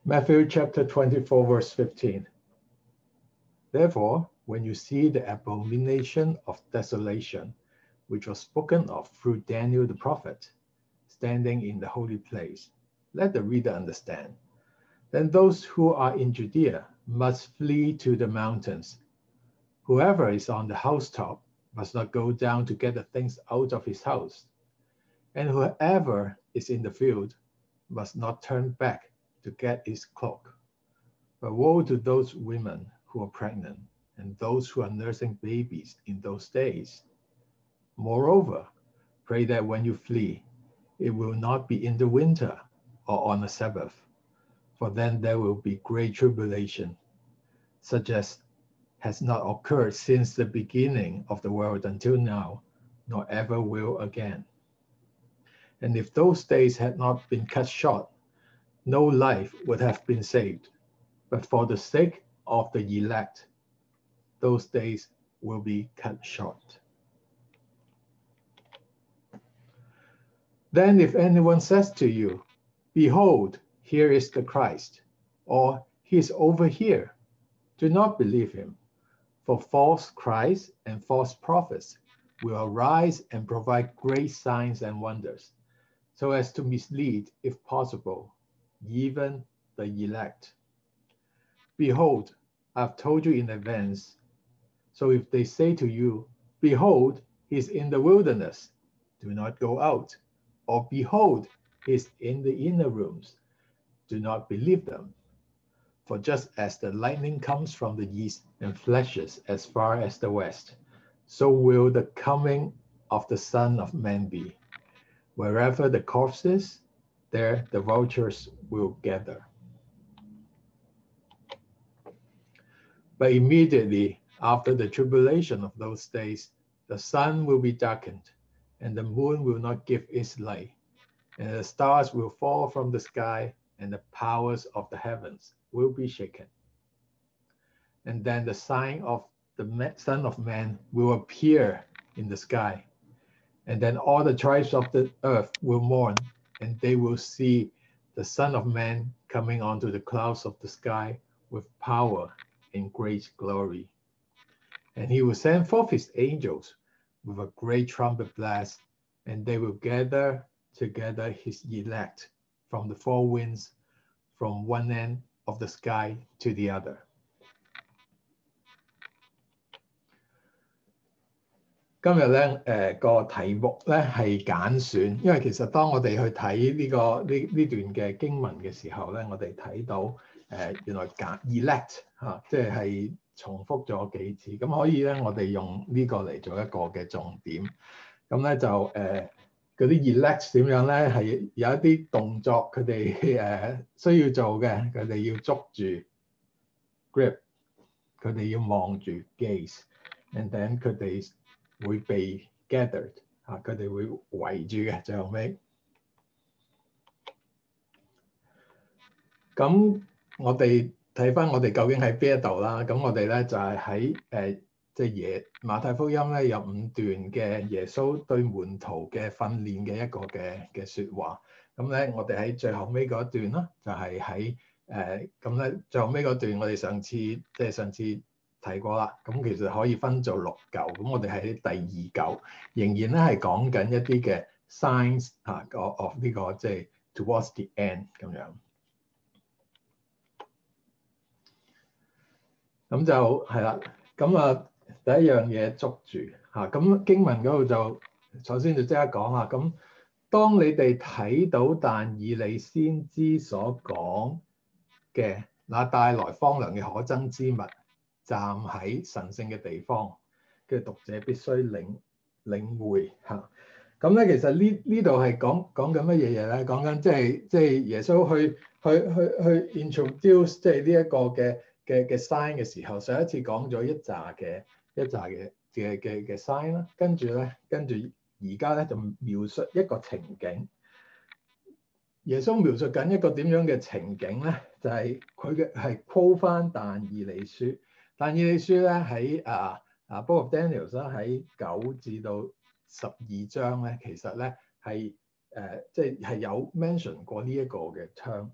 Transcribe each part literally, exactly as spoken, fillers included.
Matthew chapter twenty-four, verse fifteen. Therefore, when you see the abomination of desolation, which was spoken of through Daniel the prophet, standing in the holy place, let the reader understand. Then those who are in Judea must flee to the mountains. Whoever is on the housetop must not go down to get the things out of his house. And whoever is in the field must not turn back to get his cloak. But woe to those women who are pregnant and those who are nursing babies in those days. Moreover, pray that when you flee, it will not be in the winter or on a Sabbath, for then there will be great tribulation, such as has not occurred since the beginning of the world until now, nor ever will again. And if those days had not been cut short, no life would have been saved. But for the sake of the elect, those days will be cut short. Then if anyone says to you, behold, here is the Christ, or he is over here, do not believe him. For false Christs and false prophets will arise and provide great signs and wonders, so as to mislead, if possible, even the elect. Behold, I have told you in advance. So if they say to you, behold, he is in the wilderness, do not go out. Or behold, he is in the inner rooms, do not believe them. For just as the lightning comes from the east and flashes as far as the west, so will the coming of the Son of Man be. Wherever the corpse is, there the vultures will gather. But immediately after the tribulation of those days, the sun will be darkened, and the moon will not give its light, and the stars will fall from the sky, and the powers of the heavens will be shaken. And then the sign of the Son of Man will appear in the sky. And then all the tribes of the earth will mourn, and they will see the Son of Man coming onto the clouds of the sky with power and great glory. And he will send forth his angels with a great trumpet blast, and they will gather together his elect from the four winds, from one end of the sky to the other. 今日咧，誒個題目咧係揀選，因為其實當我哋去睇呢、這個呢呢段嘅經文嘅時候咧，我哋睇到誒、呃、原來揀 elect 嚇、啊，即係重複咗幾次，咁可以咧我哋用呢個嚟做一個嘅重點。咁咧就誒嗰啲 elect 點樣咧係有一啲動作佢哋誒需要做嘅，佢哋要捉住 grip， 佢哋要望住 gaze，and then 佢哋會被 gathered 嚇，佢哋會圍住嘅最後尾。咁我哋睇翻我哋究竟喺邊一度啦？咁我哋咧就係喺誒即係耶馬太福音咧有五段嘅耶穌對門徒嘅訓練嘅一個嘅嘅説話。咁咧我哋喺最後尾嗰一段啦，就係喺誒咁咧最後尾嗰段，我哋上次即係上次提過啦。咁其實可以分做六嚿。咁我哋喺第二嚿仍然咧係講緊一啲嘅 signs 嚇 of 呢個即係 towards the end 咁樣。咁就係啦，咁啊第一樣嘢捉住嚇，咁經文嗰度就首先就即刻講下，咁當你哋睇到但以理先知所講嘅那帶來荒涼嘅可憎之物，站喺神聖嘅地方嘅讀者必須領領會嚇。咁咧其實呢呢度係講講緊乜嘢嘢咧？講緊即係即係耶穌去去去去 introduce 即係呢一個嘅。嘅嘅 sign 嘅時候，上一次講咗一紮嘅一紮嘅嘅嘅嘅 sign 啦，跟住咧，跟住而家咧就描述一個情景。耶穌描述緊一個點樣嘅情景咧？就係佢嘅係 quote 翻但以理書。但以理書咧喺啊啊 Book of Daniel 啦，喺九至到十二章咧，其實咧係誒即係係有 mention 過呢一個嘅 term。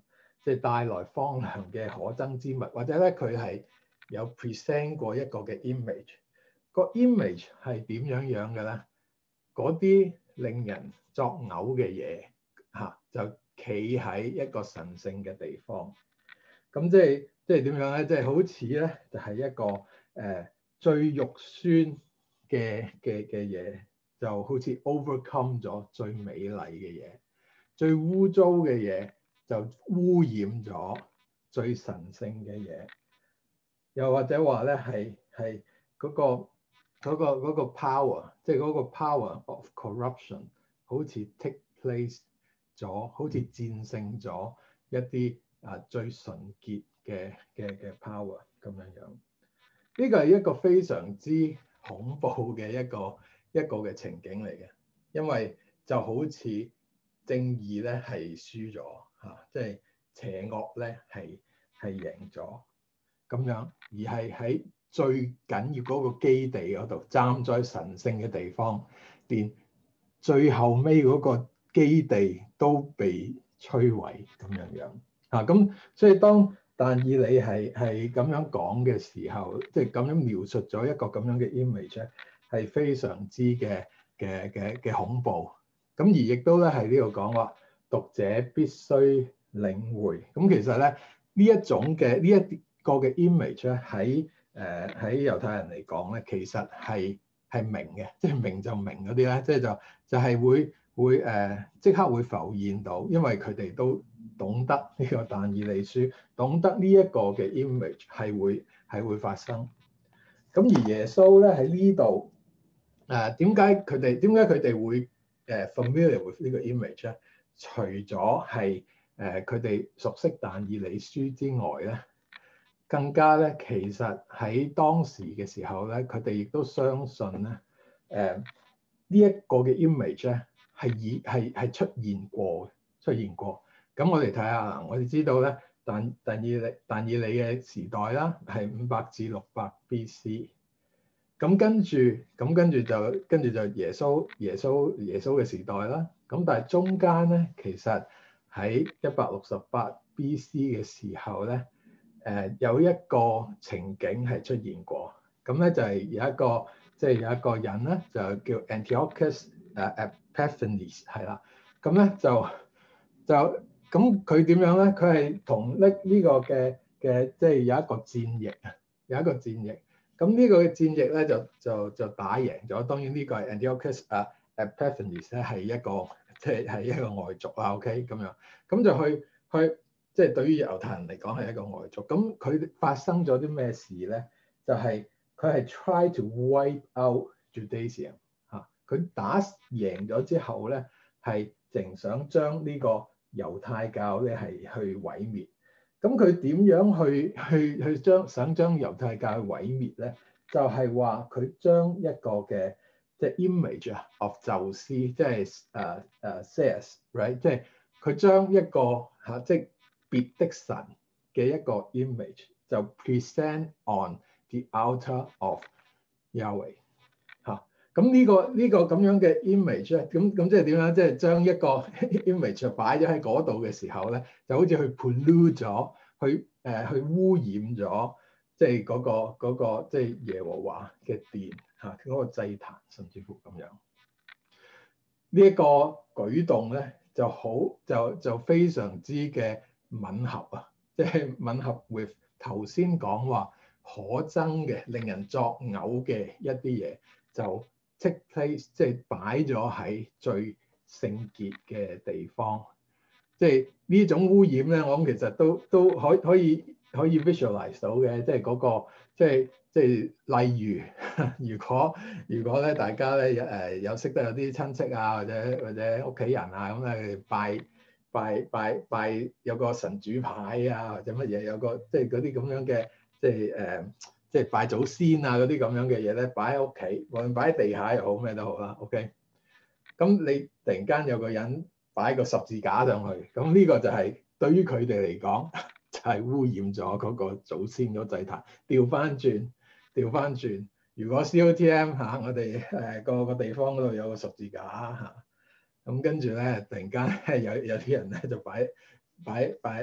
即係帶來荒涼嘅可憎之物，或者咧佢係有 present 過一個嘅 image。個 image 係點樣樣嘅咧？嗰啲令人作嘔嘅嘢嚇，就企喺一個神聖嘅地方。咁即係即係點樣咧？即係好似咧，就係一個誒、呃、最肉酸嘅嘅嘅嘢，就好似 overcome 咗最美麗嘅嘢，最污糟嘅嘢就污染咗最神聖嘅嘢。又或者話咧，係係嗰個嗰個嗰個 power，即係嗰個 power of corruption，好似 take place 咗，好似戰勝咗一啲啊最純潔嘅嘅嘅 power 咁樣樣。呢個係一個非常之恐怖嘅一個一個嘅情景嚟嘅，因為就好似正義咧係輸咗嚇，即係邪惡咧係係贏咗咁樣，而係喺最緊要嗰個基地嗰度，站在神聖嘅地方，連最後尾嗰個基地都被摧毀咁樣樣嚇。咁所以當但以理係係咁樣講嘅時候，即係咁樣描述咗一個咁樣嘅 image 咧，係非常之嘅嘅嘅嘅恐怖。咁而亦都咧係呢度講話，讀者必須領會。咁其實咧呢一種嘅呢一個嘅 image 咧喺誒喺猶太人嚟講咧，其實係係明嘅，即係明就明嗰啲咧，即係就就係會會誒即刻會浮現到，因為佢哋都懂得呢個但以理書，懂得呢一個嘅 image 係會係會發生。咁而耶穌咧喺呢度誒點解佢哋點解佢哋會誒 familiar with 呢個 image 咧？除咗係誒佢哋熟悉但以理書之外咧，更加咧其實喺當時嘅時候咧，佢哋亦都相信咧誒呢一個嘅 image 咧係已係係出現過出現過。咁我哋睇下，我哋知道咧，但但以理但以理嘅時代啦，係五百至六百 B C。咁跟住，咁跟住就跟住就耶穌耶穌耶穌嘅時代啦。咁但係中間咧，其實喺一百六十八 B C 嘅時候咧，誒、呃、有一個情景係出現過。咁咧就係有一個即係、就是、有一個人咧，就叫 Antiochus 誒 Epiphanes 係啦。咁咧就就。咁佢點樣咧？佢係同呢呢個嘅嘅，即係有一個戰役啊，有一個戰役。咁呢個嘅戰役咧就就就打贏咗。當然呢個係 Antiochus 啊 Epiphanes 咧係一個即係係一個外族啦。OK 咁樣，咁就去去即係對於猶太人嚟講係一個外族。咁佢發生咗啲咩事咧？就係佢係 try to wipe out Judaism 嚇。佢打贏咗之後咧，係淨想將呢個猶太教咧係去毀滅，咁佢點樣去去去將想將猶太教毀滅咧？就係話佢將一個嘅即係 image of 宙斯，即係誒誒 Zeus right，即係佢將一個嚇即係別的神嘅一個 image 就 present on the altar of Yahweh 嚇。咁呢個呢個咁樣嘅 image 咧，咁咁即係點樣？即係將一個 image 擺咗喺嗰度嘅時候咧，就好似去 pollute 咗，去誒去污染咗，即係嗰個嗰個即係耶和華嘅殿嚇嗰個祭壇，甚至乎咁樣。呢一個舉動咧就好就就非常之嘅吻合啊，即係吻合 with 頭先講話可憎嘅、令人作嘔嘅一啲嘢就。take place 即係擺咗喺最聖潔嘅地方，即係呢種污染咧，我諗其實都都可以可以可以 visualize 到嘅，即係嗰個即係即係例如，如果如果咧大家咧誒有識得有啲親戚啊或者或者屋企人啊咁咧拜拜拜拜有個神主牌啊或者乜嘢有個即係嗰啲咁樣嘅即係誒。呃即係拜祖先啊嗰啲咁樣嘅嘢咧，擺喺屋企，無論擺喺地下又好咩都好啦。OK，咁你突然間有個人擺個十字架上去，咁呢個就係、是、對於佢哋嚟講就係、是、污染咗嗰個祖先嗰祭壇。調翻轉，調翻轉，如果 C O T M 嚇、啊、我哋誒個個地方嗰度有個十字架嚇，咁、啊、跟住咧突然間有有啲人咧就擺擺擺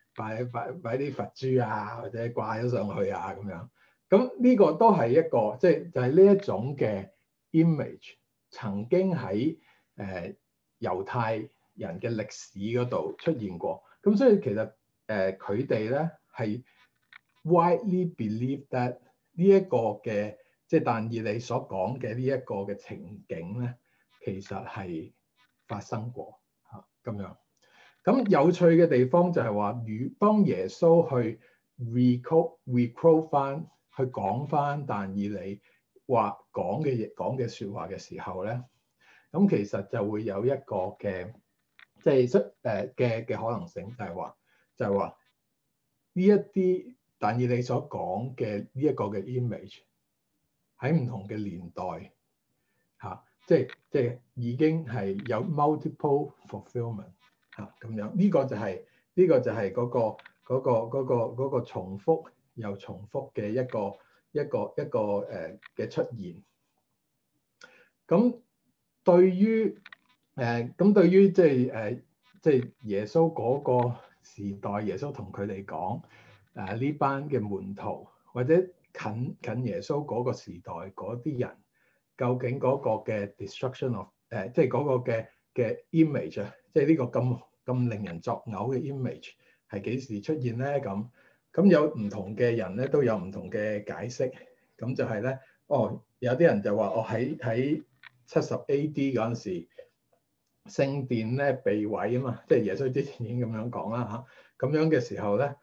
擺擺擺啲佛珠啊，或者掛咗上去啊咁樣。咁呢個都係一個即係就係、是、呢一種嘅 image 曾經喺誒、呃、猶太人嘅歷史嗰度出現過。咁所以其實誒佢哋咧係 widely believe that 呢一個嘅即係但以理所講嘅呢一個嘅情景咧，其實係發生過嚇咁樣。咁有趣嘅地方就係話，如當耶穌去 recall recall 翻去講翻但以理話講嘅嘢講嘅説話嘅時候咧，咁其實就會有一個嘅即係出誒嘅嘅可能性，就係話就係話呢一啲但以理所講嘅呢一個嘅 image 喺唔同嘅年代嚇、啊，即係即係已經係有 multiple fulfillment 嚇咁樣。呢、這個就係、是、呢、這個就係嗰、那個嗰、那個嗰、那個那個、重複又重複嘅一個一個一個誒嘅、呃、出現。咁對於誒咁、呃、對於即係誒即係耶穌嗰個時代，耶穌同佢哋講誒呢班嘅門徒或者近近耶穌嗰個時代嗰啲人，究竟嗰個嘅 destruction of 誒、呃、即係嗰個嘅嘅 image 啊，即係呢個咁咁令人作嘔嘅 image 係幾時出現咧？咁咁有唔同嘅人咧都有唔同嘅解釋。咁就係咧，哦有啲人就話我喺喺七十 A D 嗰陣時，聖殿咧被毀啊嘛，即係耶穌之前已經咁樣講啦嚇。咁樣嘅時候咧，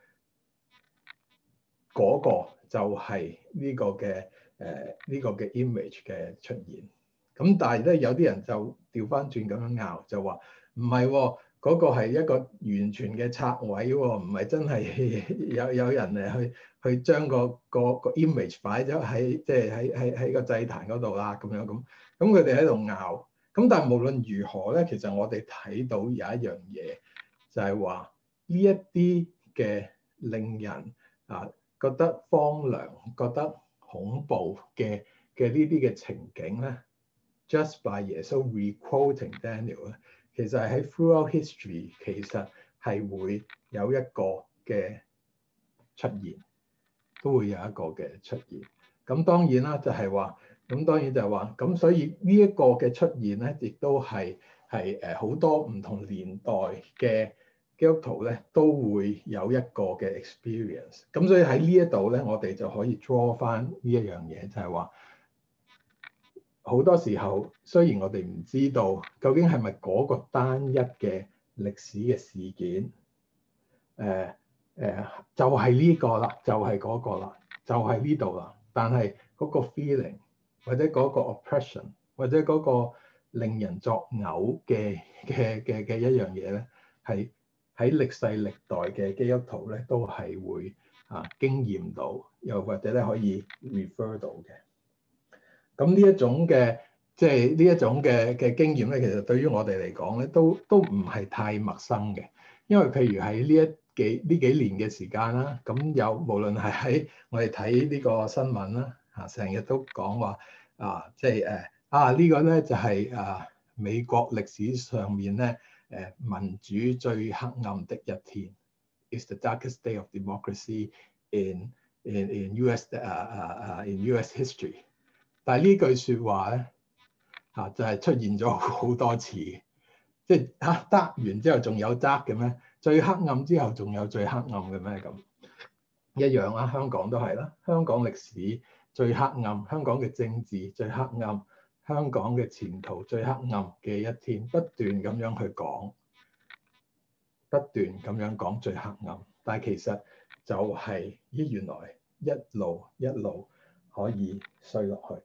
嗰、那個就係呢個嘅誒呢個嘅 image 嘅出現。咁但係咧有啲人就調翻轉咁樣拗，就話唔係喎，嗰、那個係一個完全嘅拆毀喎，唔係真係有有人誒去去將個個個 image 擺咗喺即係喺喺喺個祭壇嗰度啦咁樣咁。咁佢哋喺度拗。咁但係無論如何咧，其實我哋睇到有一樣嘢，就係話呢一啲嘅令人啊覺得荒涼、覺得恐怖嘅嘅呢啲嘅情景咧 ，just by 耶穌 requoting Daniel 咧，其實係喺 throughout history 其實係會有一個嘅出現，都會有一個嘅出現。咁當然啦，就係話。咁當然就係話，咁所以呢一個嘅出現咧，亦都係係誒好多唔同年代嘅基督徒咧，都會有一個嘅 experience。咁所以喺呢一度咧，我哋就可以 draw 翻呢一樣嘢，就係話好多時候，雖然我哋唔知道究竟係咪嗰個單一嘅歷史嘅事件，誒、呃、誒、呃、就係、是、呢個啦，就係、是、嗰個啦，就係呢度啦，但係嗰個 feeling。或者嗰個 oppression，或者嗰個令人作嘔嘅嘅嘅嘅一樣嘢咧，係喺歷世歷代嘅基督徒咧都係會啊經驗到，又或者咧可以 refer 到嘅。咁呢一種嘅即係呢一種嘅嘅經驗咧，其實對於我哋嚟講咧，都都唔係太陌生嘅，因為譬如喺呢一幾呢幾年嘅時間啦，咁有無論係喺我哋睇呢個新聞啦。啊！成日都講話啊，即係誒啊！呢個咧就係啊美國歷史上面咧誒民主最黑暗的一天 ，is the darkest day of democracy in in in U S 啊啊啊 in U S history。但係呢句説話咧嚇就係出現咗好多次，即係嚇得完之後仲有得嘅咩？最黑暗之後仲有最黑暗嘅咩？咁一樣啦，香港都係啦，香港歷史。最黑暗，香港嘅政治最黑暗，香港嘅前途最黑暗嘅一天，不斷咁樣去講，不斷咁樣講最黑暗，但係其實就係咦原來一路一路可以衰落去，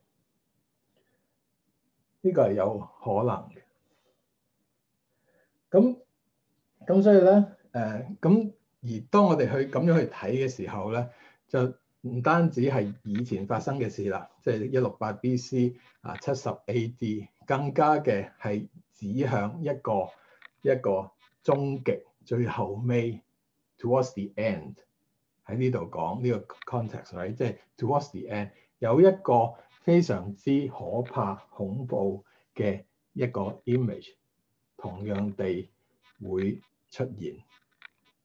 呢個係有可能嘅。咁咁所以咧，誒、呃、咁而當我哋去咁樣去睇嘅時候咧，就唔單止係以前發生嘅事啦，即係一六八 B C 啊七十 A D，更加嘅係指向一個一個終極最後尾 towards the end 喺呢度講呢個 context，right？即係 towards the end 有一個非常之可怕恐怖嘅一個 image，同樣地會出現。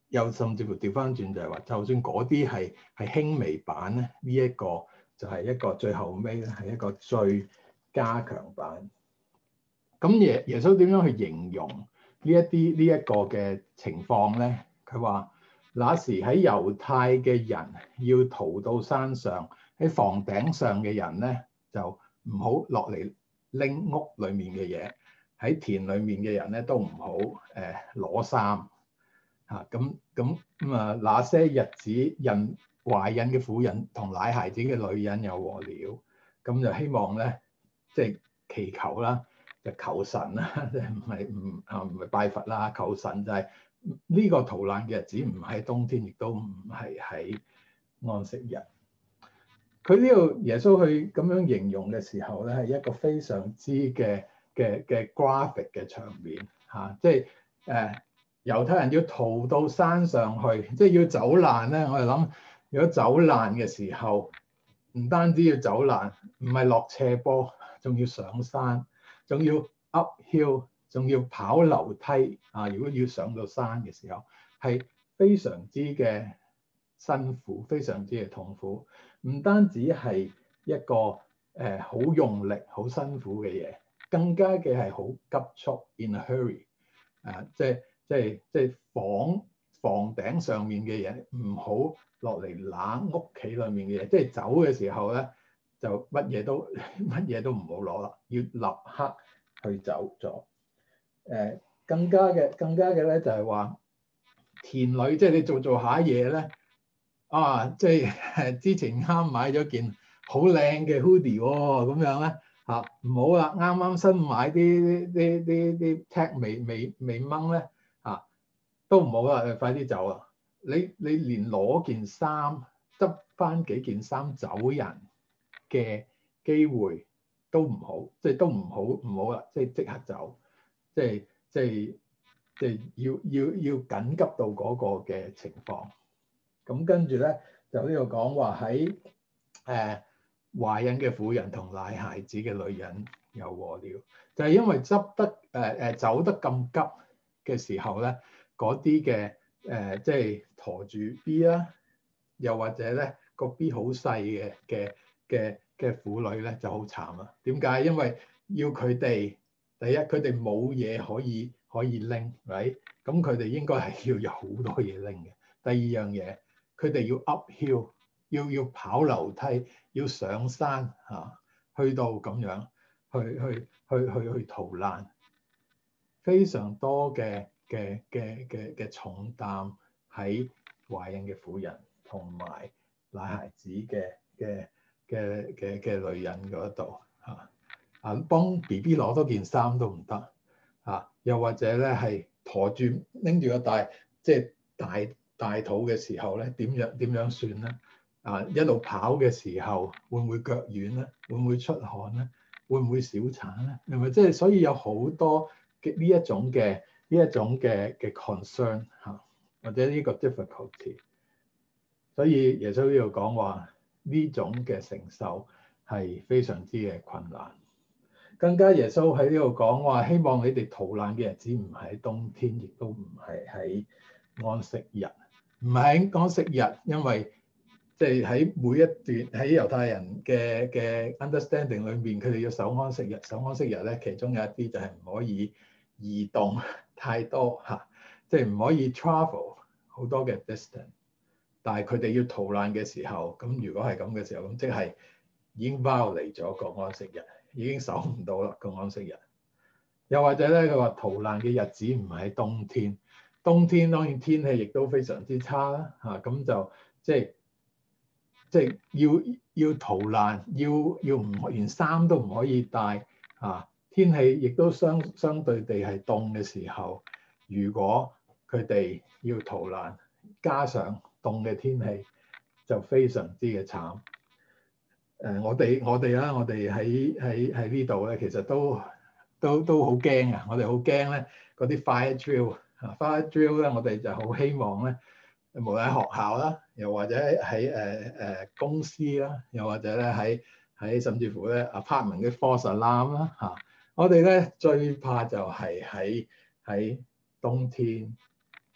又甚至乎調翻轉就係話，就算嗰啲係係輕微版咧，呢、這、一個就係一個最後尾咧係一個最加強版。咁耶耶穌點樣去形容呢一啲呢一個嘅情況咧？佢話：那時喺猶太嘅人要逃到山上，喺房頂上嘅人咧就唔好落嚟拎屋裡面嘅嘢，喺田裡面嘅人咧都唔好誒攞衫嚇。咁咁咁啊！那些日子，孕懷孕嘅婦人同奶孩子嘅女人有禍了。咁就希望咧，即係祈求啦。就求神啦，即係唔係唔啊唔係拜佛啦，求神就係呢個逃難嘅日子，唔係冬天，亦都唔係喺安息日。佢呢度耶穌去咁樣形容嘅時候咧，係一個非常之嘅嘅嘅 graphic 嘅場面嚇，即係誒猶太人要逃到山上去，即係要走難咧。我哋諗，如果走難嘅時候，唔單止要走難，唔係落斜坡，仲要上山。仲要 uphill， 仲要跑樓梯啊！如果要上到山嘅時候，係非常之嘅辛苦，非常之嘅痛苦。唔單止係一個誒好、呃、用力、好辛苦嘅嘢，更加嘅係好急速 in a hurry 啊！即係即係即係房房頂上面嘅嘢，唔好落嚟拿屋企裏面嘅嘢。即係走嘅時候咧，就乜嘢都乜嘢都唔好攞啦，要立刻去走咗。誒、呃，更加嘅更加嘅咧就係話田裏，即係你做做下嘢咧，啊，即係之前啱買咗件好靚嘅 hoodie 喎，咁樣咧嚇唔好啦，啱啱新買啲啲啲啲 tag 未未未掹咧嚇都唔好啦，快啲走啦！你你連攞件衫執翻幾件衫走人嘅機會都唔好，即係都唔好唔好啦，即係即刻走，即係即係即係要要要緊急到嗰個嘅情況。咁跟住咧就呢度講話喺誒懷孕嘅婦人同奶孩子嘅女人有禍了，就係、是、因為執得誒誒、呃、走得咁急嘅時候咧，嗰啲嘅誒即係駝住 B 啦，又或者咧個 B 好細嘅嘅嘅嘅婦女咧就好慘啦。點解？因為要佢哋第一，佢哋冇嘢可以可以拎，right？咁佢哋應該係要有好多嘢拎嘅。第二樣嘢，佢哋要 uphill， 要要跑樓梯，要上山嚇、啊，去到咁樣去去去去去逃難，非常多嘅嘅嘅嘅嘅重擔喺懷孕嘅婦人同埋奶孩子嘅嘅嘅嘅嘅女人嗰度嚇，啊幫 B B 攞多件衫都唔得嚇，又或者咧係駝住拎住個大即係大大肚嘅時候咧，點樣點樣算咧？啊一路跑嘅時候會唔會腳軟咧？會唔會出汗咧？會唔會小產咧？係咪即係所以有好多嘅呢一種嘅呢一種嘅嘅 concern 嚇，或者呢個 difficulty，所以耶穌呢度講話呢種嘅承受係非常之嘅困難。更加耶穌喺呢度講話，希望你哋逃難嘅日子唔係喺冬天，亦都唔係喺安息日，唔係喺安息日，因為即係喺每一段喺猶太人嘅嘅 understanding 裏面，佢哋要守安息日。守安息日咧，其中有一啲就係唔可以移動太多嚇，即係唔可以 travel 好多嘅 distance。但係佢哋要逃難嘅時候，咁如果係咁嘅時候，咁即係已經 violate 咗個安息日，已經守唔到啦個安息日。又或者咧，佢話逃難嘅日子唔係喺冬天，冬天當然天氣亦都非常之差啦嚇，咁就即係。即係要要逃難，要要唔連衫都唔可以帶啊！天氣亦都相相對地係凍嘅時候，如果佢哋要逃難，加上凍嘅天氣，就非常之嘅慘。誒、呃，我哋我哋啦，我哋喺喺喺呢度咧，其實都都都好驚啊！我哋好驚咧，嗰啲 fire drill 啊 fire drill 咧，我哋就好希望咧。無論喺學校啦，又或者喺誒誒公司啦，又或者咧喺喺甚至乎咧 apartment 嘅 false alarm 啦嚇，我哋咧最怕就係喺喺冬天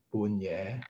半夜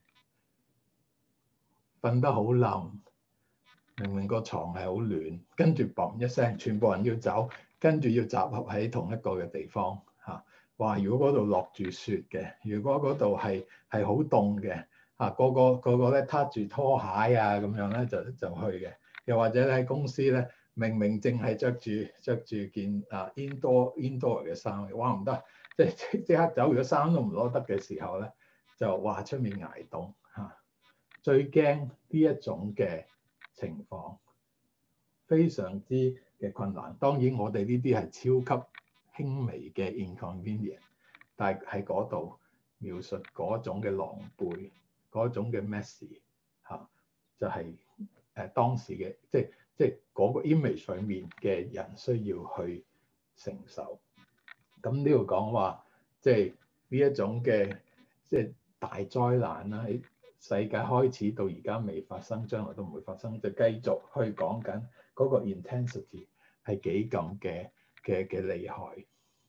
瞓得好冧，明明個床係好暖，跟住嘣一聲，全部人要走，跟住要集合喺同一個嘅地方嚇。哇！如果嗰度落住雪嘅，如果嗰度係係好凍嘅嚇，個個個個咧撻住拖鞋啊咁樣咧就就去嘅。又或者喺公司咧，明明淨係着住着住件啊 indoor indoor 嘅衫，哇唔得，即係即刻走，如果衫都唔攞得嘅時候咧，就話出面捱凍嚇。最驚呢一種嘅情況，非常之嘅困難。當然我哋呢啲係超級輕微嘅 inconvenience，但係喺嗰度描述嗰種嘅狼狽，嗰種嘅 messy 嚇，就係、是、誒當時嘅即係即係嗰個 image 裏面嘅人需要去承受。咁呢度講話即係呢一種嘅即係大災難啦，喺世界開始到而家未發生，將來都唔會發生，就繼續去講緊嗰個 intensity 係幾咁嘅嘅嘅厲害。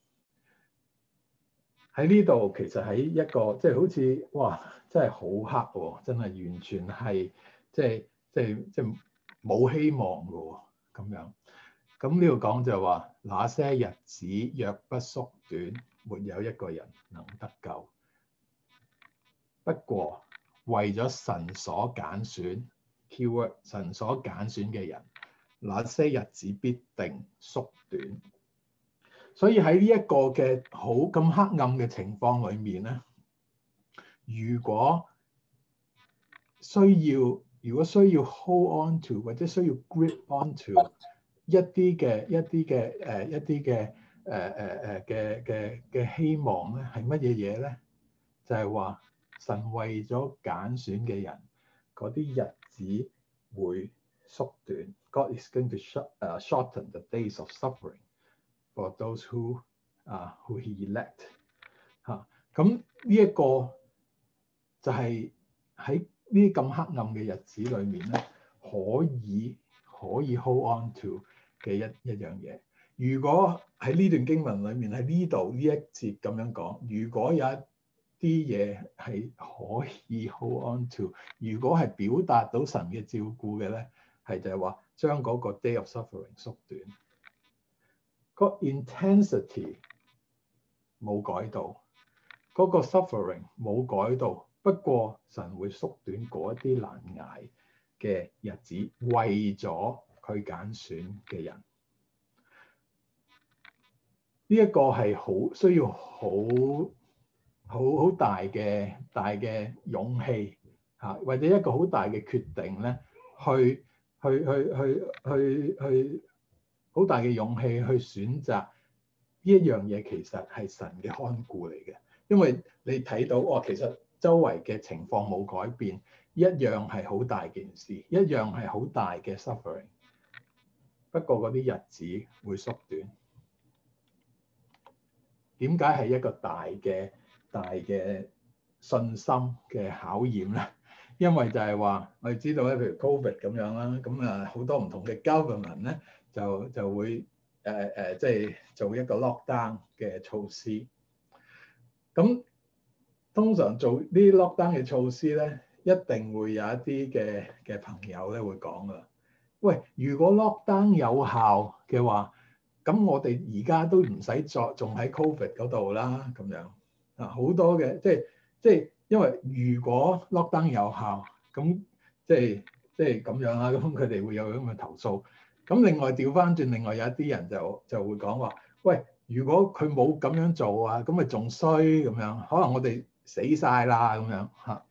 喺呢度其實喺一個即係、就是、好似哇，真係好黑喎，真係完全係即係即係即係冇希望嘅喎咁樣。咁呢度講就係話，那些日子若不縮短，沒有一個人能得救。不過為咗神所揀選 keyword 神所揀選嘅人，那些日子必定縮短。所以喺呢一個嘅好咁黑暗嘅情況裏面咧，如果需要如果需要 hold on to 或者需要 grip on to 一啲嘅一啲嘅誒一啲嘅誒誒誒嘅嘅嘅希望咧，係乜嘢嘢咧？就係話神為咗揀選嘅人，嗰啲日子會縮短。God is going to short, uh, shorten the days of suffering for those who 啊、uh, who He elect 嚇。咁呢一個就係喺呢啲咁黑暗嘅日子裏面咧，可以可以 hold on to 嘅一一樣嘢。如果喺呢段經文裏面喺呢度呢一節咁樣講，如果有一啲嘢係可以 hold on to，如果係表達到神嘅照顧嘅咧，係就係話將嗰個 day of suffering 縮短，個 intensity 冇改到，嗰個 suffering 冇改到，不過神會縮短嗰一啲難捱嘅日子，為咗佢揀選嘅人。呢一個係好需要好好好大嘅大嘅勇氣嚇，或者一個好大嘅決定咧，去去去去去去好大嘅勇氣去選擇呢一樣嘢，其實係神嘅看顧嚟嘅。因為你睇到哦，其實周圍嘅情況冇改變，一樣係好大件事，一樣係好大嘅 suffering。不過嗰啲日子會縮短。點解係一個大嘅大嘅信心嘅考驗咧？因為就係話我哋知道咧，譬如 Covid 咁樣啦，咁啊好多唔同嘅 government 咧就就會誒誒即係做一個 lockdown 嘅措施。咁通常做呢啲 lockdown 嘅措施咧，一定會有一啲嘅嘅朋友咧會講噶。喂，如果 lockdown 有效嘅話，咁我哋而家都唔使再仲喺 Covid 嗰度啦，咁樣啊好多嘅，即係即係因為如果 lockdown 有效，咁即係即係咁樣啦，咁佢哋會有咁嘅投訴。咁另外調翻轉，另外有一啲人就就會講話，喂，如果佢冇咁樣做啊，咁咪仲衰咁樣，可能我哋死晒啦咁樣嚇。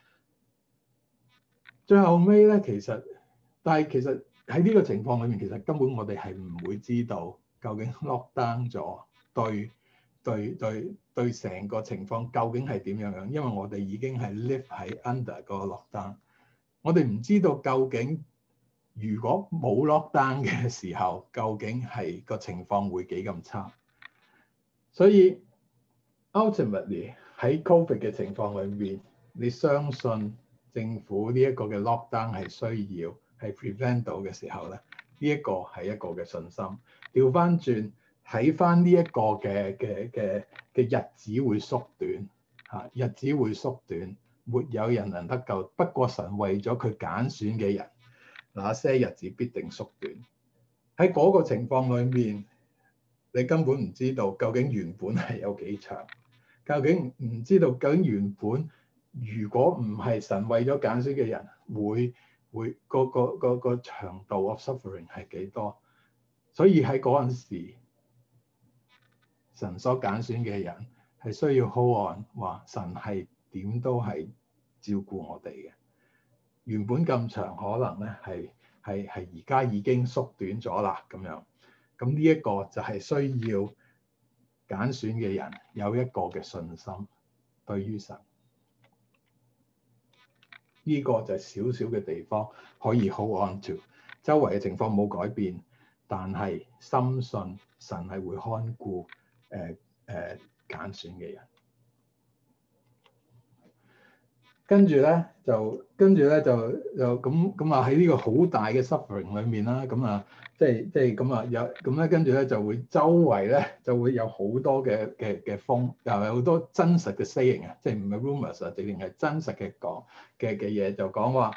最後尾咧，其實但係其實喺呢個情況裏面，其實根本我哋係唔會知道。究竟 lockdown 咗對對對對成個情況究竟係點樣樣？因為我哋已經係 live 喺 under 個 lockdown，我哋唔知道究竟如果冇 lockdown 嘅時候，究竟係個情況會幾咁差。所以 ultimately 喺 Covid 嘅情況裏面，你相信政府呢一個嘅 lockdown 係需要係 prevent 到嘅時候咧，呢一個係一個嘅信心。調翻轉睇翻呢一個嘅嘅嘅嘅日子會縮短嚇，日子會縮短， 沒有人能得救，不過神為咗佢揀選嘅人，那些日子必定縮短。喺嗰個情況裏面，你根本唔知道究竟原本係有幾長，究竟唔知道究竟原本如果唔係神為咗揀選嘅人，會會個個個個長度 of suffering 係幾多？所以喺嗰陣時，神所揀選嘅人係需要 hold on，話神係點都係照顧我哋嘅。原本咁長，可能咧係係係而家已經縮短咗啦咁樣。咁呢一個就係需要揀選嘅人有一個嘅信心對於神。呢、這個就係少少嘅地方可以 hold on to。周圍嘅情況冇改變，但係深信神係會看顧誒誒揀選嘅人。跟住咧就跟住咧就就咁咁啊喺呢個好大嘅 suffering 裏面啦，咁啊即係即係咁啊有咁咧跟住咧就會周圍咧就會有好多嘅嘅嘅風，又有好多真實嘅 saying 啊，即係唔係 rumors 啊，直情係真實嘅講嘅嘅嘢，就講話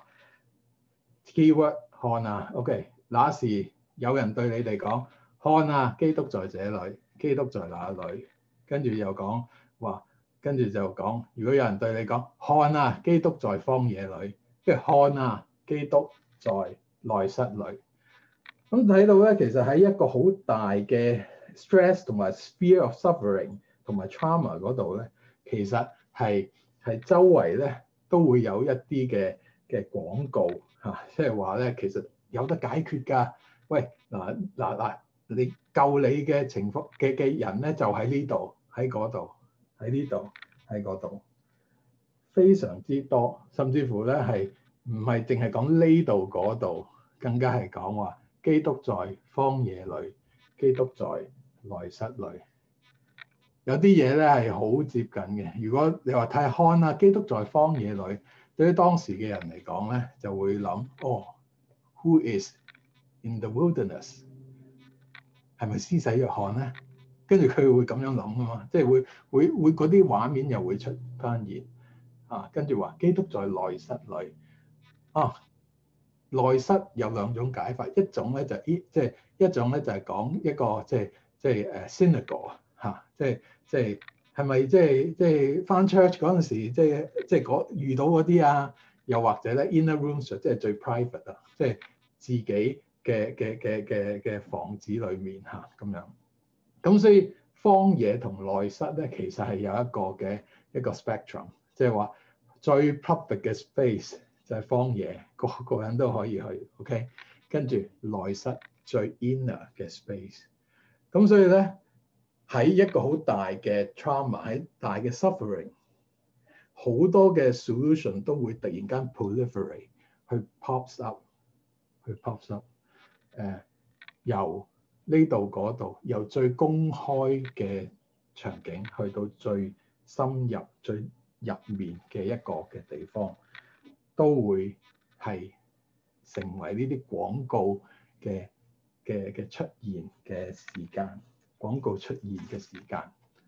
keyword 看啊 ，OK， 那時有人對你哋講看啊，基督在這裡，基督在那裡，跟住又講話。跟住就講，如果有人對你講看啊，基督在荒野裏，即係看啊，基督在內室裏。咁睇到咧，其實喺一個好大嘅 stress 同埋 sphere of suffering 同埋 trauma 嗰度咧，其實係係周圍咧都會有一啲嘅嘅廣告嚇，即係話咧其實有得解決㗎。喂嗱嗱嗱，你救你嘅情況嘅嘅人咧就喺呢度喺嗰度。喺呢度，喺嗰度，非常之多，甚至乎咧係唔係淨係講呢度嗰度，更加係講話基督在荒野裏，基督在內室裏。有啲嘢咧係好接近嘅。如果你話太看啊，基督在荒野裏，對於當時嘅人嚟講咧，就會諗哦 ，Who is in the wilderness？ 係咪施洗約翰咧？跟住佢會咁樣諗啊嘛，即係會會會嗰啲畫面又會出翻現啊。跟住話基督在內室裏啊，內室有兩種解法，一種咧就依即係一種咧就係講一個即係即係誒 synagogue 嚇，即係即係係咪即係即係翻 church 嗰陣時，即係即係嗰遇到嗰啲啊，又或者咧 inner rooms 即係最 private 啊，即係自己嘅嘅嘅嘅嘅房子裏面嚇咁樣。咁所以荒野同內室咧，其實係有一個嘅一個 spectrum，即係話最 public 嘅 space 就係荒野，個個人都可以去 ，OK。跟住內室最 inner 嘅 space，咁所以咧喺一個好大嘅 trauma，喺大嘅 suffering，好多嘅 solution 都會突然間 proliferate 去 pops up，去 pops up，誒、呃、由呢度嗰度，由最公開嘅場景去到最深入、最入面嘅一個嘅地方，都會係成為呢啲廣告嘅嘅嘅出現嘅時間。廣告出現嘅時間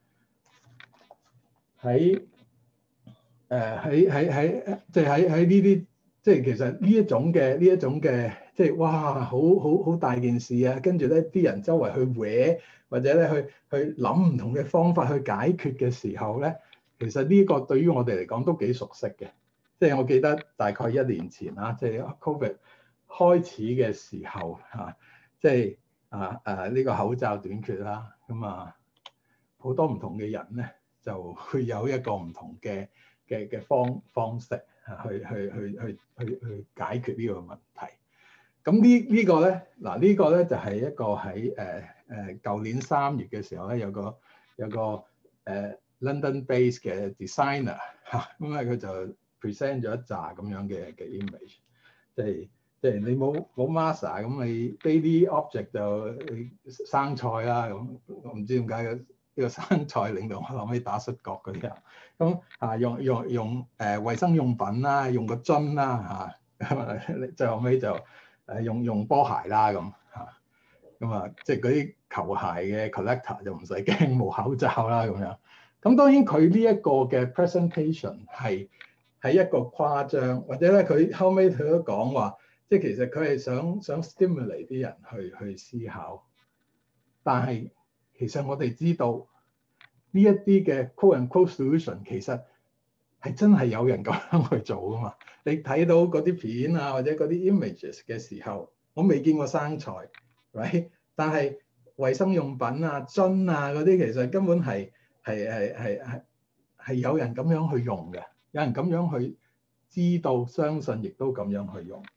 喺誒喺喺喺即係喺喺呢啲即係其實呢一種嘅呢一種嘅。即係哇，好好好大件事啊！跟住咧，啲人周圍去搲，或者咧去去諗唔同嘅方法去解決嘅時候咧，其實呢個對於我哋嚟講都幾熟悉嘅。即係我記得大概一年前啦，即係 Covid 開始嘅時候嚇，即係啊誒呢個口罩短缺啦，咁啊好多唔同嘅人咧就會有一個唔同嘅嘅嘅方方式嚇，去去去去去去解決呢個問題。咁呢呢個咧，嗱呢個咧就係一個喺誒誒舊年三月嘅時候咧，有個有個誒、呃、London base 嘅 designer 嚇，咁啊佢就 present 咗一紮咁樣嘅嘅 image，即係即係你冇冇 master 咁你 daily object 就生菜啦咁，我唔知點解嘅呢個生菜令到我諗起打摔角嗰啲人，咁啊用用用誒衞生用品啦，用個樽啦嚇，最後尾就。誒用用波鞋啦咁嚇，咁啊即係嗰啲球鞋嘅 collector 就唔使驚冇口罩啦咁樣。咁當然佢呢一個嘅 presentation 係係一個誇張，或者咧佢後尾佢都講話，即係其實佢係想想 stimulate 啲人去去思考。但係其實我哋知道呢一啲嘅 quote and quote solution 其實係真係有人咁樣去做噶嘛？你睇到嗰啲片啊，或者嗰啲 images 嘅時候，我未見過生菜 ，right？但係衞生用品啊、樽啊嗰啲，其實根本係係係係係係有人咁樣去用嘅，有人咁樣去知道、相信，亦都咁樣去用。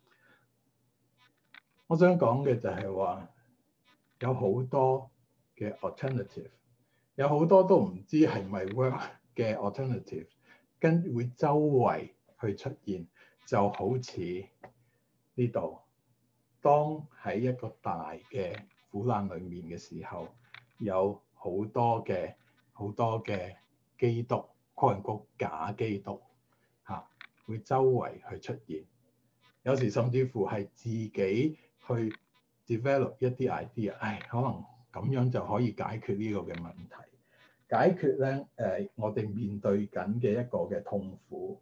我想講嘅就係話，有好多嘅 alternative， 有好多都唔知係咪 work 嘅 alternative， 跟會周圍去出現，就好似呢度，當喺一個大嘅苦難裡面嘅時候，有好多嘅好多嘅基督，可能個假基督嚇、啊，會周圍去出現。有時甚至乎係自己去 develop 一啲 idea， 唉，可能咁樣就可以解決呢個嘅問題，解決咧誒、呃、我哋面對緊嘅一個嘅痛苦。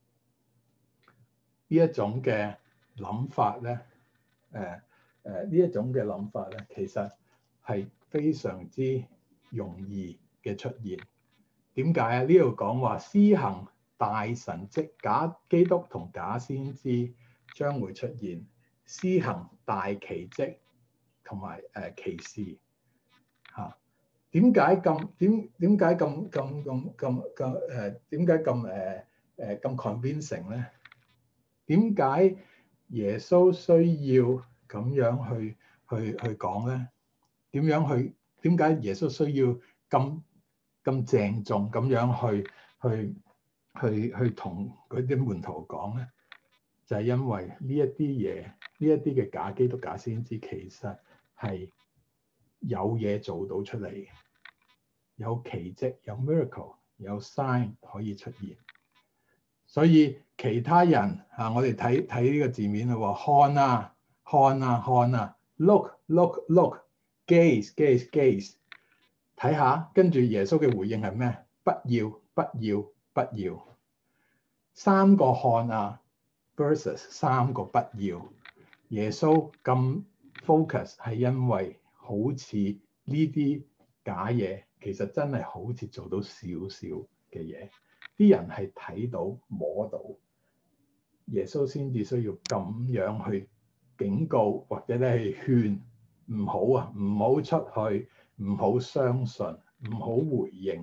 呢一種嘅諗法咧，誒誒呢一種嘅諗法咧，其實係非常之容易嘅出現。點解啊？呢度講話施行大神蹟，假基督同假先知將會出現，施行大奇蹟同埋誒奇事嚇。點解咁點點解咁咁咁咁咁誒？點解咁誒誒咁 convincing 咧？點解耶穌需要咁樣去去去講咧？點樣去？點解耶穌需要咁咁鄭重咁樣去去去去同佢啲門徒講咧？就係因為呢一啲嘢，呢一啲嘅假基督、假先知，其實係有嘢做到出嚟嘅，有奇蹟、有 miracle、有 sign 可以出現。所以其他人啊，我哋睇睇呢個字面啦喎，看啊看啊看啊 ，look look look，gaze gaze gaze，睇下，跟住耶穌嘅回應係咩？不要不要不要，三個看啊 versus 三個不要。耶穌咁 focus 係因為好似呢啲假嘢，其實真係好似做到少少嘅嘢。啲人係睇到摸到，耶穌先至需要咁樣去警告或者咧係勸唔好啊，唔好出去，唔好相信，唔好回應。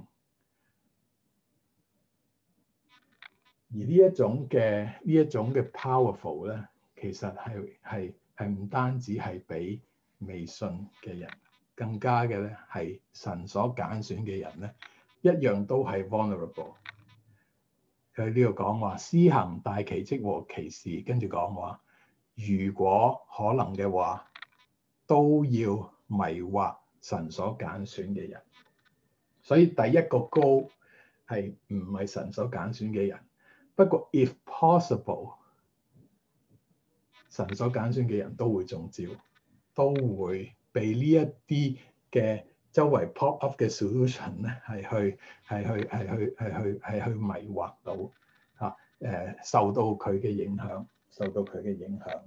而呢一種嘅呢一種嘅 powerful 咧，其實係係係唔單止係俾未信嘅人，更加嘅咧係神所揀選嘅人咧，一樣都係 vulnerable。佢呢度講話施行大奇蹟和奇事，跟住講話，如果可能嘅話，都要迷惑神所揀選嘅人。所以第一個 goal 係唔係神所揀選嘅人？不過 if possible， 神所揀選嘅人都會中招，都會被呢一啲嘅周圍 pop up 嘅 solution 咧，係去係去係去係去係去迷惑到嚇誒，受到佢嘅影響，受到佢嘅影響。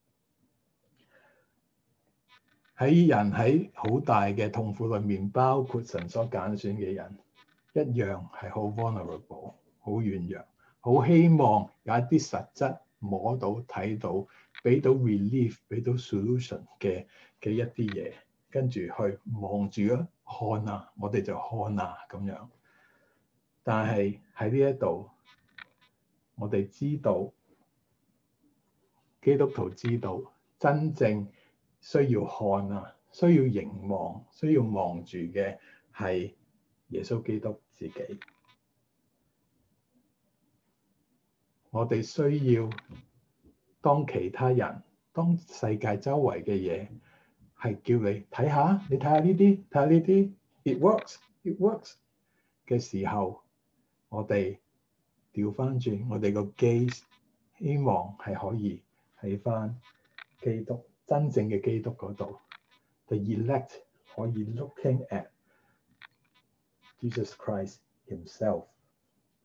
喺人喺好大嘅痛苦裏面，包括神所揀選嘅人，一樣係好 vulnerable， 好軟弱，好希望有一啲實質摸到、睇到、俾到 relief、俾到 solution 嘅嘅一啲嘢。跟住去望住啊，看啊，我哋就看啊咁樣。但係喺呢一度，我哋知道基督徒知道真正需要看啊，需要凝望、需要望住嘅係耶穌基督自己。我哋需要當其他人、當世界周圍嘅嘢，係叫你睇下，你睇下呢啲，睇下呢啲 ，it works，it works 嘅時候，我哋調翻轉，我哋個 gaze 希望係可以喺翻基督真正嘅基督嗰度 ，the elect 可以 looking at Jesus Christ himself。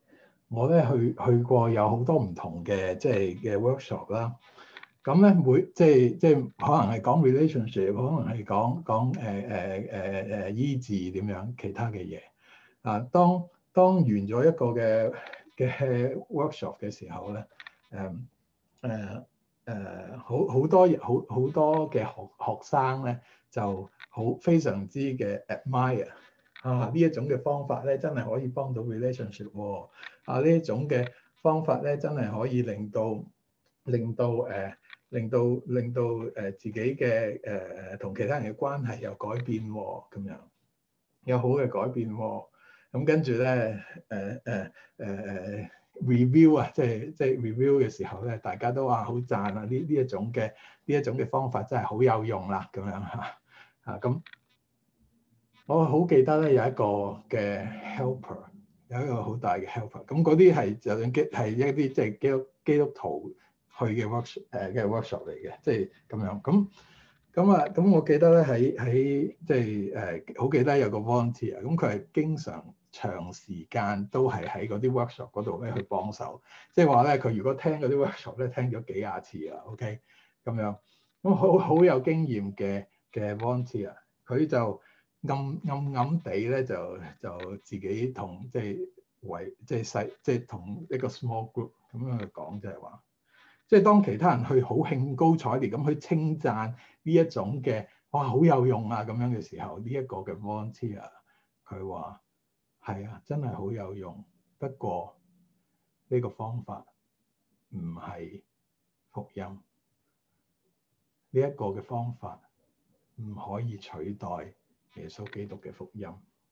我咧去去過有好多唔同嘅即係嘅 workshop 啦。咁咧每即係即係可能係講 relationship，可能係講講誒誒誒誒醫治點樣其他嘅嘢。啊，當當完咗一個嘅嘅 workshop 嘅時候咧，誒誒誒好好多好好多嘅學學生咧就好非常之嘅 admire 啊，呢一種嘅方法咧真係可以幫到 relationship 喎。啊，呢一種嘅方法咧真係可以令到令到誒。呃令到令到誒自己嘅誒同其他人嘅關係有改變喎，咁樣有好嘅改變喎。咁跟住咧誒誒誒誒 review 啊，即係即係 review 嘅時候咧，大家都話好讚啊！呢呢一種嘅呢一種嘅方法真係好有用啦，咁樣嚇嚇咁。我好記得咧有一個嘅 helper，有一個好大嘅 helper。咁嗰啲係就算基係一啲即係基督基督徒去嘅 workshop 誒嘅 workshop 嚟嘅，即係咁樣。咁咁啊，咁我記得咧喺喺即係誒好記得有個 volunteer，咁佢係經常長時間都係喺嗰啲 workshop 嗰度咧去幫手。即係話咧，佢如果聽嗰啲 workshop 咧聽咗幾廿次啦 ，OK 咁樣。咁好好有經驗嘅嘅 volunteer，佢就暗暗暗地咧就就自己同即係為即係細即係同一個 small group 咁樣去講，就係話，即係當其他人去好興高采烈咁去稱讚呢一種嘅哇好有用啊咁樣嘅時候，呢一個嘅 volunteer 佢話係啊，真係好有用，不過呢個方法唔係福音，呢一個嘅方法唔可以取代耶穌基督嘅福音。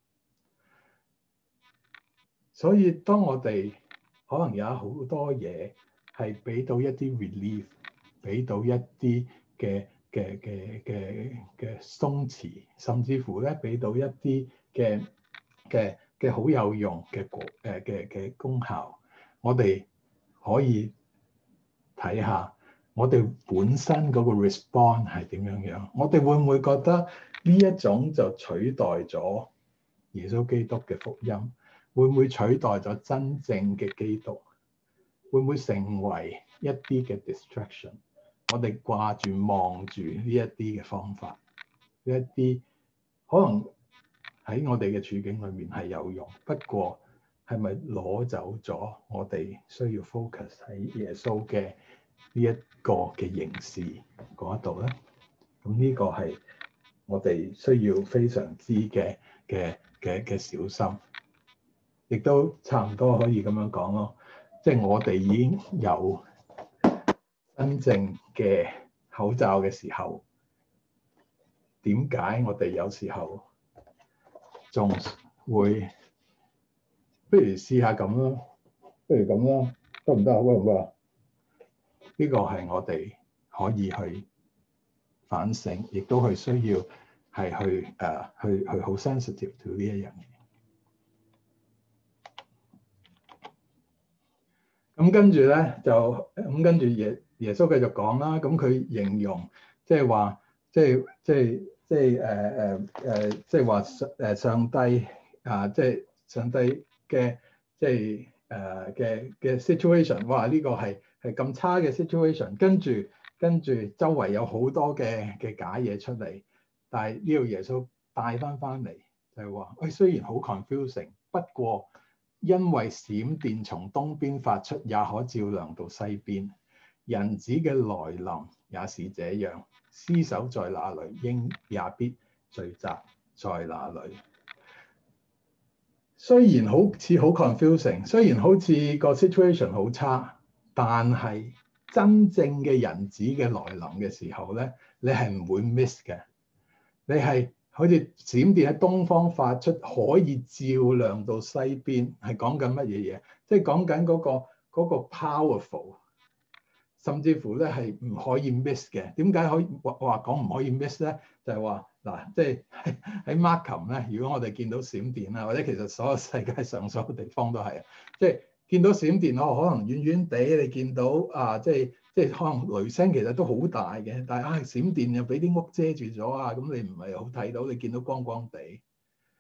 所以當我哋可能有好多嘢係俾到一啲 relief， 俾到一啲嘅嘅嘅嘅嘅鬆弛，甚至乎咧俾到一啲嘅嘅嘅好有用嘅果誒嘅嘅功效，我哋可以睇下我哋本身嗰個 response 係點樣樣。我哋會唔會覺得呢一種就取代咗耶穌基督嘅福音？會唔會取代咗真正嘅基督？會唔會成為一啲嘅 distraction？ 我哋掛住望住呢一啲嘅方法，呢一啲可能喺我哋嘅處境裏面係有用，不過係咪攞走咗我哋需要 focus 喺耶穌嘅呢一個嘅形式嗰一度咧？咁呢個係我哋需要非常之嘅嘅嘅嘅小心。亦都差唔多可以咁樣講咯，即係我哋已經有真正嘅口罩嘅時候，點解我哋有時候仲會不如試下咁咯？不如咁咯，得唔得啊？得唔得啊？呢個係我哋可以去反省，亦都係需要係去誒、uh, 去去好 sensitive to 呢一樣嘢。咁跟住咧就咁跟住耶耶穌繼續講啦。咁佢形容即係話，即係即係即係誒誒誒，即係話誒上帝啊，即係上帝嘅即係誒嘅嘅 situation。哇！呢個係係咁差嘅 situation。跟住跟住周圍有好多嘅嘅假嘢出嚟，但係呢個耶穌帶翻翻嚟就係話，誒雖然好 confusing，不過，因為閃電從東邊發出，也可照亮到西邊。人子嘅來臨也是這樣。屍首在哪裏，鷹也必聚集在哪裏。雖然好似好 confusing，雖然好似個 situation 好差，但係真正嘅人子嘅來臨嘅時候咧，你係唔會 miss 嘅。你係好似閃電喺東方發出，可以照亮到西邊，係講緊乜嘢嘢？即係講緊嗰個嗰個 powerful，甚至乎咧係唔可以 miss 嘅。點解可以話話講唔可以 miss 咧？就係話嗱，即係喺 Markham 咧，如果我哋見到閃電啊，或者其實所有世界上所有地方都係，即係見到閃電，我可能遠遠地你見到啊，即係。即係可能雷聲其實都好大嘅，但係啊閃電又俾啲屋遮住咗啊，咁你唔係好睇到，你見到光光地。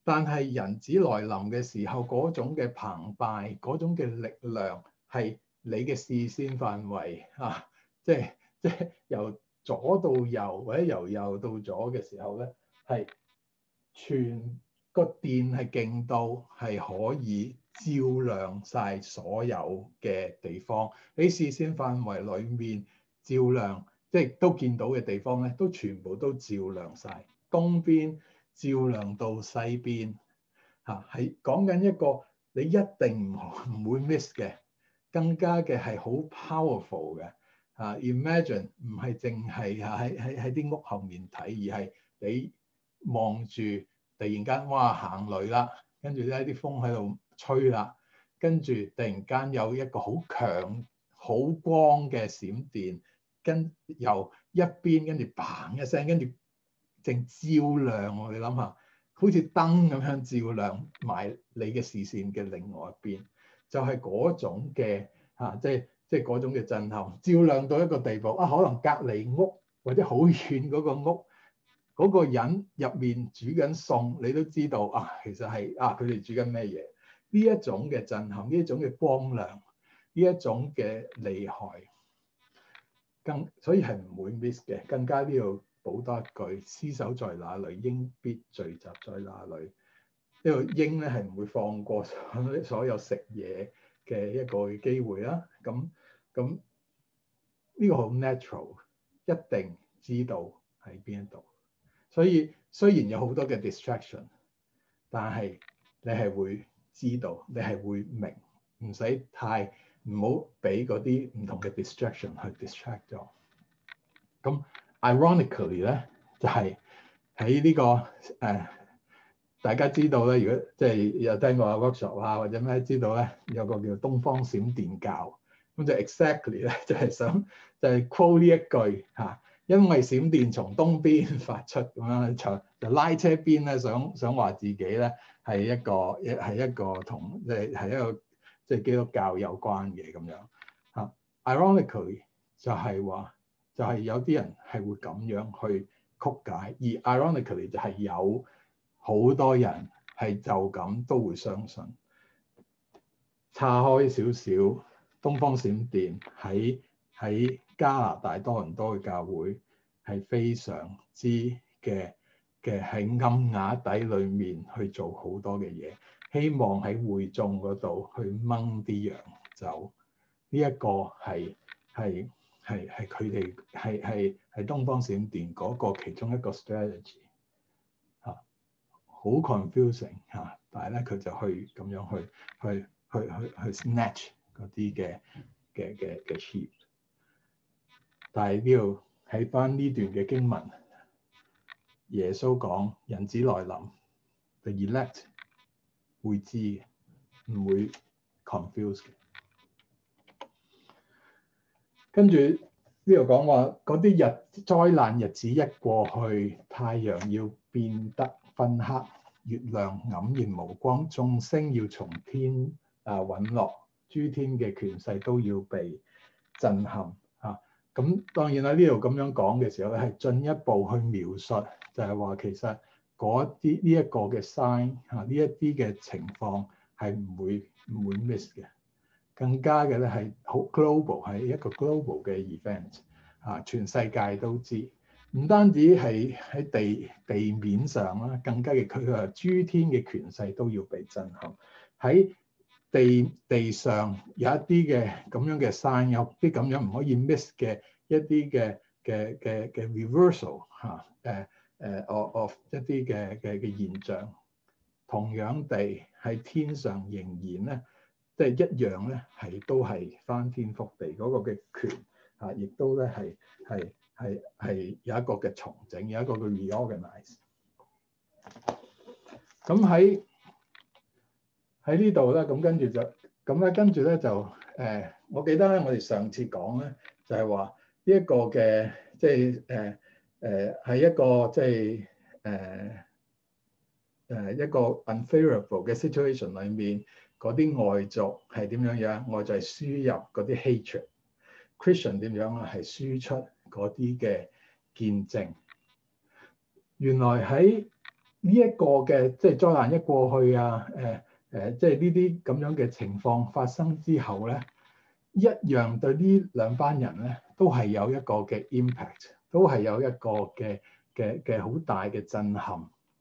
但係人子來臨嘅時候，嗰種嘅澎湃，嗰種嘅力量係你嘅視線範圍啊，即係即係由左到右或者由右到左嘅時候咧，係全個電係勁到係可以照亮晒所有嘅地方。你視線範圍裡面照亮，即係都見到嘅地方咧，都全部都照亮晒。東邊照亮到西邊，嚇係講緊一個你一定唔唔會 miss 嘅，更加嘅係好 powerful 嘅嚇、啊。Imagine 唔係淨係嚇喺喺喺啲屋後面睇，而係你望住突然間哇行雷啦，跟住咧啲風喺度吹啦，跟住突然間有一個好強好光嘅閃電，跟由一邊跟住嘭一聲，跟住正照亮我，你諗下，好似燈咁樣照亮埋你嘅視線嘅另外一邊，就係、是、嗰種嘅嚇、啊，即係即係嗰種嘅震撼，照亮到一個地步啊！可能隔離屋或者好遠嗰個屋嗰、那個人入面煮緊餸，你都知道啊，其實係啊，佢哋煮緊咩嘢？呢一種嘅震撼，呢一種嘅光亮，呢一種嘅厲害，更所以係唔會 miss 嘅，更加呢度。補多一句，屍首在哪裏，鷹必聚集在哪裏。呢個鷹咧係唔會放過所有食嘢嘅一個機會啦。咁咁呢個好 natural，一定知道喺邊一度。所以雖然有好多嘅 distraction，但係你係會知道，你係會明，唔使太唔好俾嗰啲唔同嘅 distraction 去 distract 咗。咁Ironically 咧，就係喺呢個誒、呃，大家知道咧，如果即係有聽過 workshop 啊或者咩，知道咧有個叫東方閃電教，咁就 exactly 咧就係、是、想就係 quote 呢一句嚇、啊，因為閃電從東邊發出咁樣，就就拉車邊咧想想話自己咧係一個一係一個同即係係一個即係基督教有關嘅咁樣嚇、啊。Ironically 就係話。就係有啲人係會咁樣去曲解，而 ironically 就係有好多人係就咁都會相信。岔開少少，東方閃電喺喺加拿大多倫多嘅教會係非常之嘅嘅喺暗瓦底裏面去做好多嘅嘢，希望喺會眾嗰度去掹啲羊走。呢、這、一個係係。係係佢哋係係係東方閃電嗰個其中一個 strategy 嚇，好 confusing 嚇，但係咧佢就去咁樣去去去去去 snatch 嗰啲嘅嘅嘅嘅 sheep。但係呢度喺翻呢段嘅經文，耶穌講人子來臨 ，the elect 會知，唔會 confuse 嘅。跟住呢度講話，嗰啲日災難日子一過去，太陽要變得昏黑，月亮黯然無光，眾星要從天啊隕落，諸天嘅權勢都要被震撼嚇。咁、啊、當然啦，呢度咁樣講嘅時候咧，係進一步去描述，就係話其實嗰啲呢一個嘅 sign 嚇，呢一啲嘅情況係唔會唔會 miss 嘅。更加嘅咧係好 global，係一個 global 嘅 event 啊，全世界都知。唔單止係喺地地面上啦，更加嘅佢話諸天嘅權勢都要被震撼。喺地地上有一啲嘅咁樣嘅 sign，有啲咁樣唔可以 miss 嘅一啲嘅嘅嘅嘅 reversal 嚇，誒誒 of of 一啲嘅嘅嘅現象。同樣地喺天上仍然咧。即係一樣咧，係都係翻天覆地嗰個嘅權啊，亦都咧係係係係有一個嘅重整，有一個嘅 reorganize。咁喺喺呢度咧，咁跟住就咁咧，跟住咧就誒、呃，我記得咧，我哋上次講咧就係話呢一個嘅即係誒誒係一個即係誒誒一個 unfavorable 嘅 situation 裏面。嗰啲外族係點樣樣？外族係輸入嗰啲 hatred，Christian 點樣啊？係輸出嗰啲嘅見證。原來喺呢一個嘅即係災難一過去啊，誒誒，即係呢啲咁樣嘅情況發生之後咧，一樣對呢兩班人咧都係有一個嘅 impact，都係有一個嘅嘅嘅好大嘅震撼。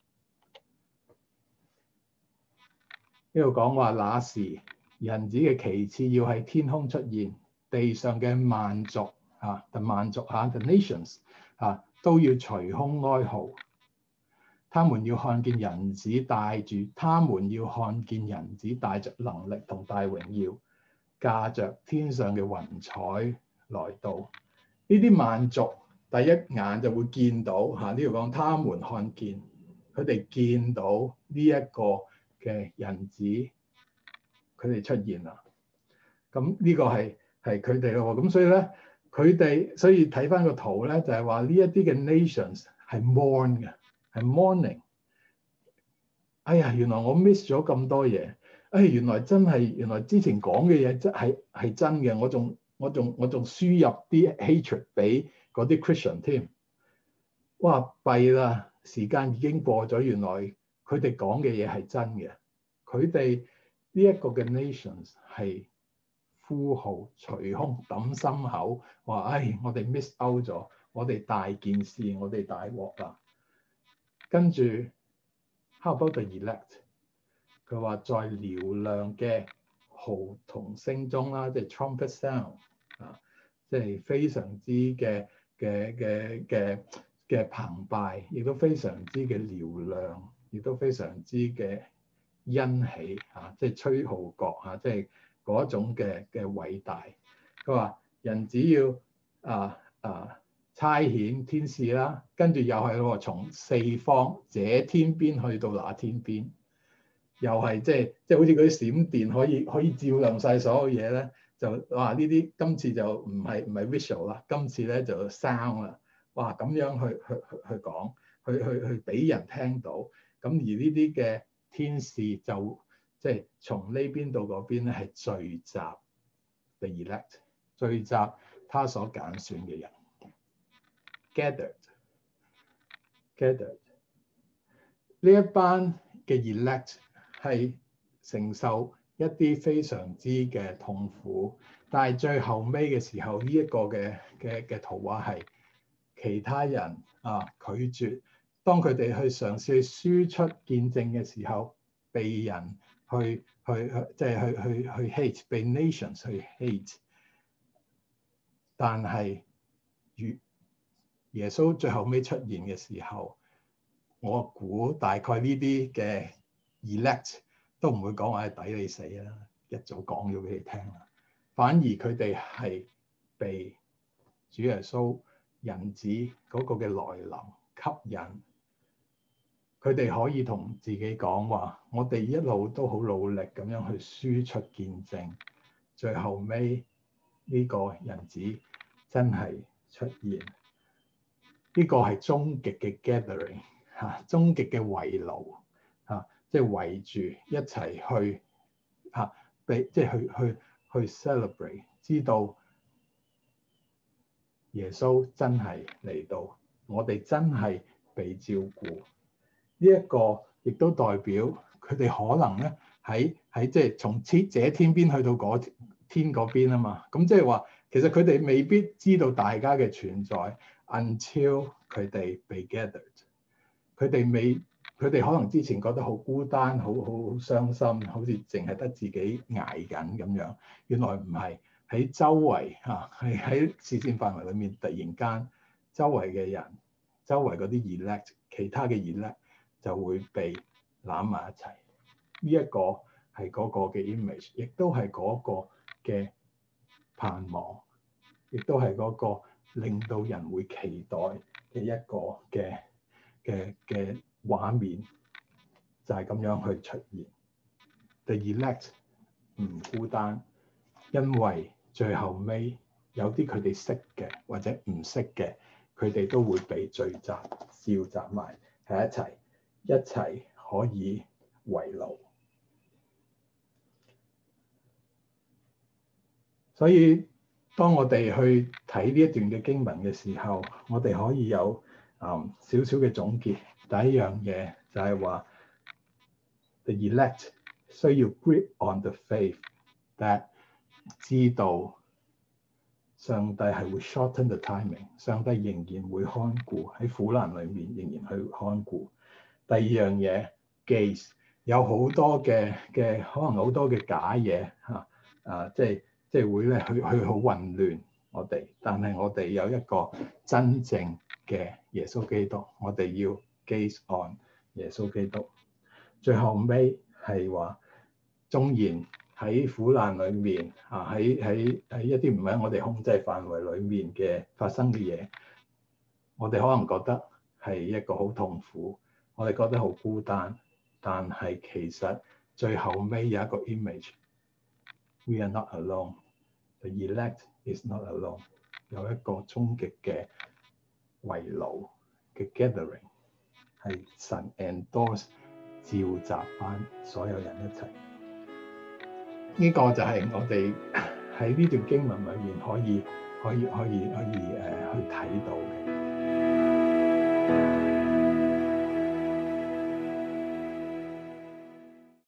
呢度講話，那時人子嘅旗幟要喺天空出現，地上嘅萬族啊，就萬族嚇 the nations 啊，都要捶胸哀號。他們要看見人子帶住，他們要看見人子帶着能力同大榮耀，駕着天上嘅雲彩來到。呢啲萬族第一眼就會見到嚇，呢度講他們看見，佢哋見到呢一個嘅人子，佢哋出現啦。咁呢個係係佢哋咯。咁所以咧，佢哋所以睇翻個圖咧，就係話呢一啲嘅 nations 係 mourn 嘅。係 mourning，哎呀，原來我 miss 咗咁多嘢，哎，原來真係，原來之前講嘅嘢真係係真嘅，我仲我仲我仲輸入啲 hatred 俾嗰啲 Christian 添，哇，弊啦，時間已經過咗，原來佢哋講嘅嘢係真嘅，佢哋呢一個嘅 nations 係呼號、捶胸、揼心口，話唉，我哋 miss out 咗，我哋大件事，我哋大鑊啦。跟住 ，How about the elect？ 佢話在嘹亮嘅號筒聲中啦，即係 trumpet sound 啊，即係非常之嘅嘅嘅嘅嘅澎湃，亦都非常之嘅嘹亮，亦都非常之嘅欣喜啊！即係吹號角啊！即係嗰種嘅嘅偉大。佢話人只要啊啊〜差遣天使啦，跟住又係喎，從四方這天邊去到那天邊，又係即係即係好似嗰啲閃電可以可以照亮晒所有嘢咧，就哇呢啲今次就唔係唔係 visual 啦，今次咧就 sound 啦，哇咁樣去去去去講，去去去俾人聽到，咁而呢啲嘅天使就即係從呢邊到嗰邊咧係聚集 the elect， 聚集他所揀選嘅人。Gathered, gathered，呢一班嘅 elect 係承受一啲非常之嘅痛苦，但係最後尾嘅時候，呢、這、一個嘅嘅嘅圖畫係其他人啊拒絕，當佢哋去嘗試去輸出見證嘅時候，被人去去去即係去去去 hate，被 nations 去 hate，但係越耶穌最後尾出現嘅時候，我估大概呢啲嘅 elect 都唔會講話係抵你死啦，一早講咗俾你聽啦。反而佢哋係被主耶穌人子嗰個嘅來臨吸引，佢哋可以同自己講話：我哋一路都好努力咁樣去輸出見證，最後尾呢個人子真係出現。呢個係終極嘅 gathering 嚇、啊，終極嘅圍爐嚇，即係圍住一齊去嚇，俾、啊、即係去去去 celebrate，知道耶穌真係嚟到，我哋真係被照顧。呢、這、一個亦都代表佢哋可能咧喺喺即係從這這天邊去到嗰天嗰邊啊嘛。咁即係話，其實佢哋未必知道大家嘅存在。Until 佢哋被 gathered， 佢哋未，佢哋可能之前覺得好孤單，好好好傷心，好似淨係得自己捱緊咁樣。原來唔係，喺周圍嚇，係喺視線範圍裡面，突然間周圍嘅人，周圍嗰啲 elect，其他嘅 elect 就會被攬埋一齊。呢、這、一個係嗰個嘅 image，亦都係嗰個嘅盼望，亦都係嗰個令到人會期待嘅一個嘅嘅嘅畫面，就係、是、咁樣去出現。The elect 唔孤單，因為最後尾有啲佢哋識嘅或者唔識嘅，佢哋都會被聚集召集埋喺一齊，一齊可以圍爐。所以當我哋去睇呢一段嘅經文嘅時候，我哋可以有啊少少嘅總結， 第一樣嘢就係話 the elect 需要 grip on the faith that 知道上帝係會 shorten the timing， 上帝仍然會看顧喺苦難裏面，仍然去看顧。第二樣嘢 gaze 有好多嘅嘅可能好多嘅假嘢嚇啊，即係即係會咧去去好混亂我哋，但係我哋有一個真正嘅耶穌基督，我哋要 gaze on 耶穌基督。最後尾係話，縱然喺苦難裏面啊，喺喺喺一啲唔喺我哋控制範圍裏面嘅發生嘅嘢，我哋可能覺得係一個好痛苦，我哋覺得好孤單，但係其實最後尾有一個 image，we are not alone，the elect is not alone， 有一個終極嘅圍爐嘅 gathering， 係神 endorse 召集翻所有人一齊。呢、這個就係我哋喺呢段經文裏面可以可以可以可以誒、呃、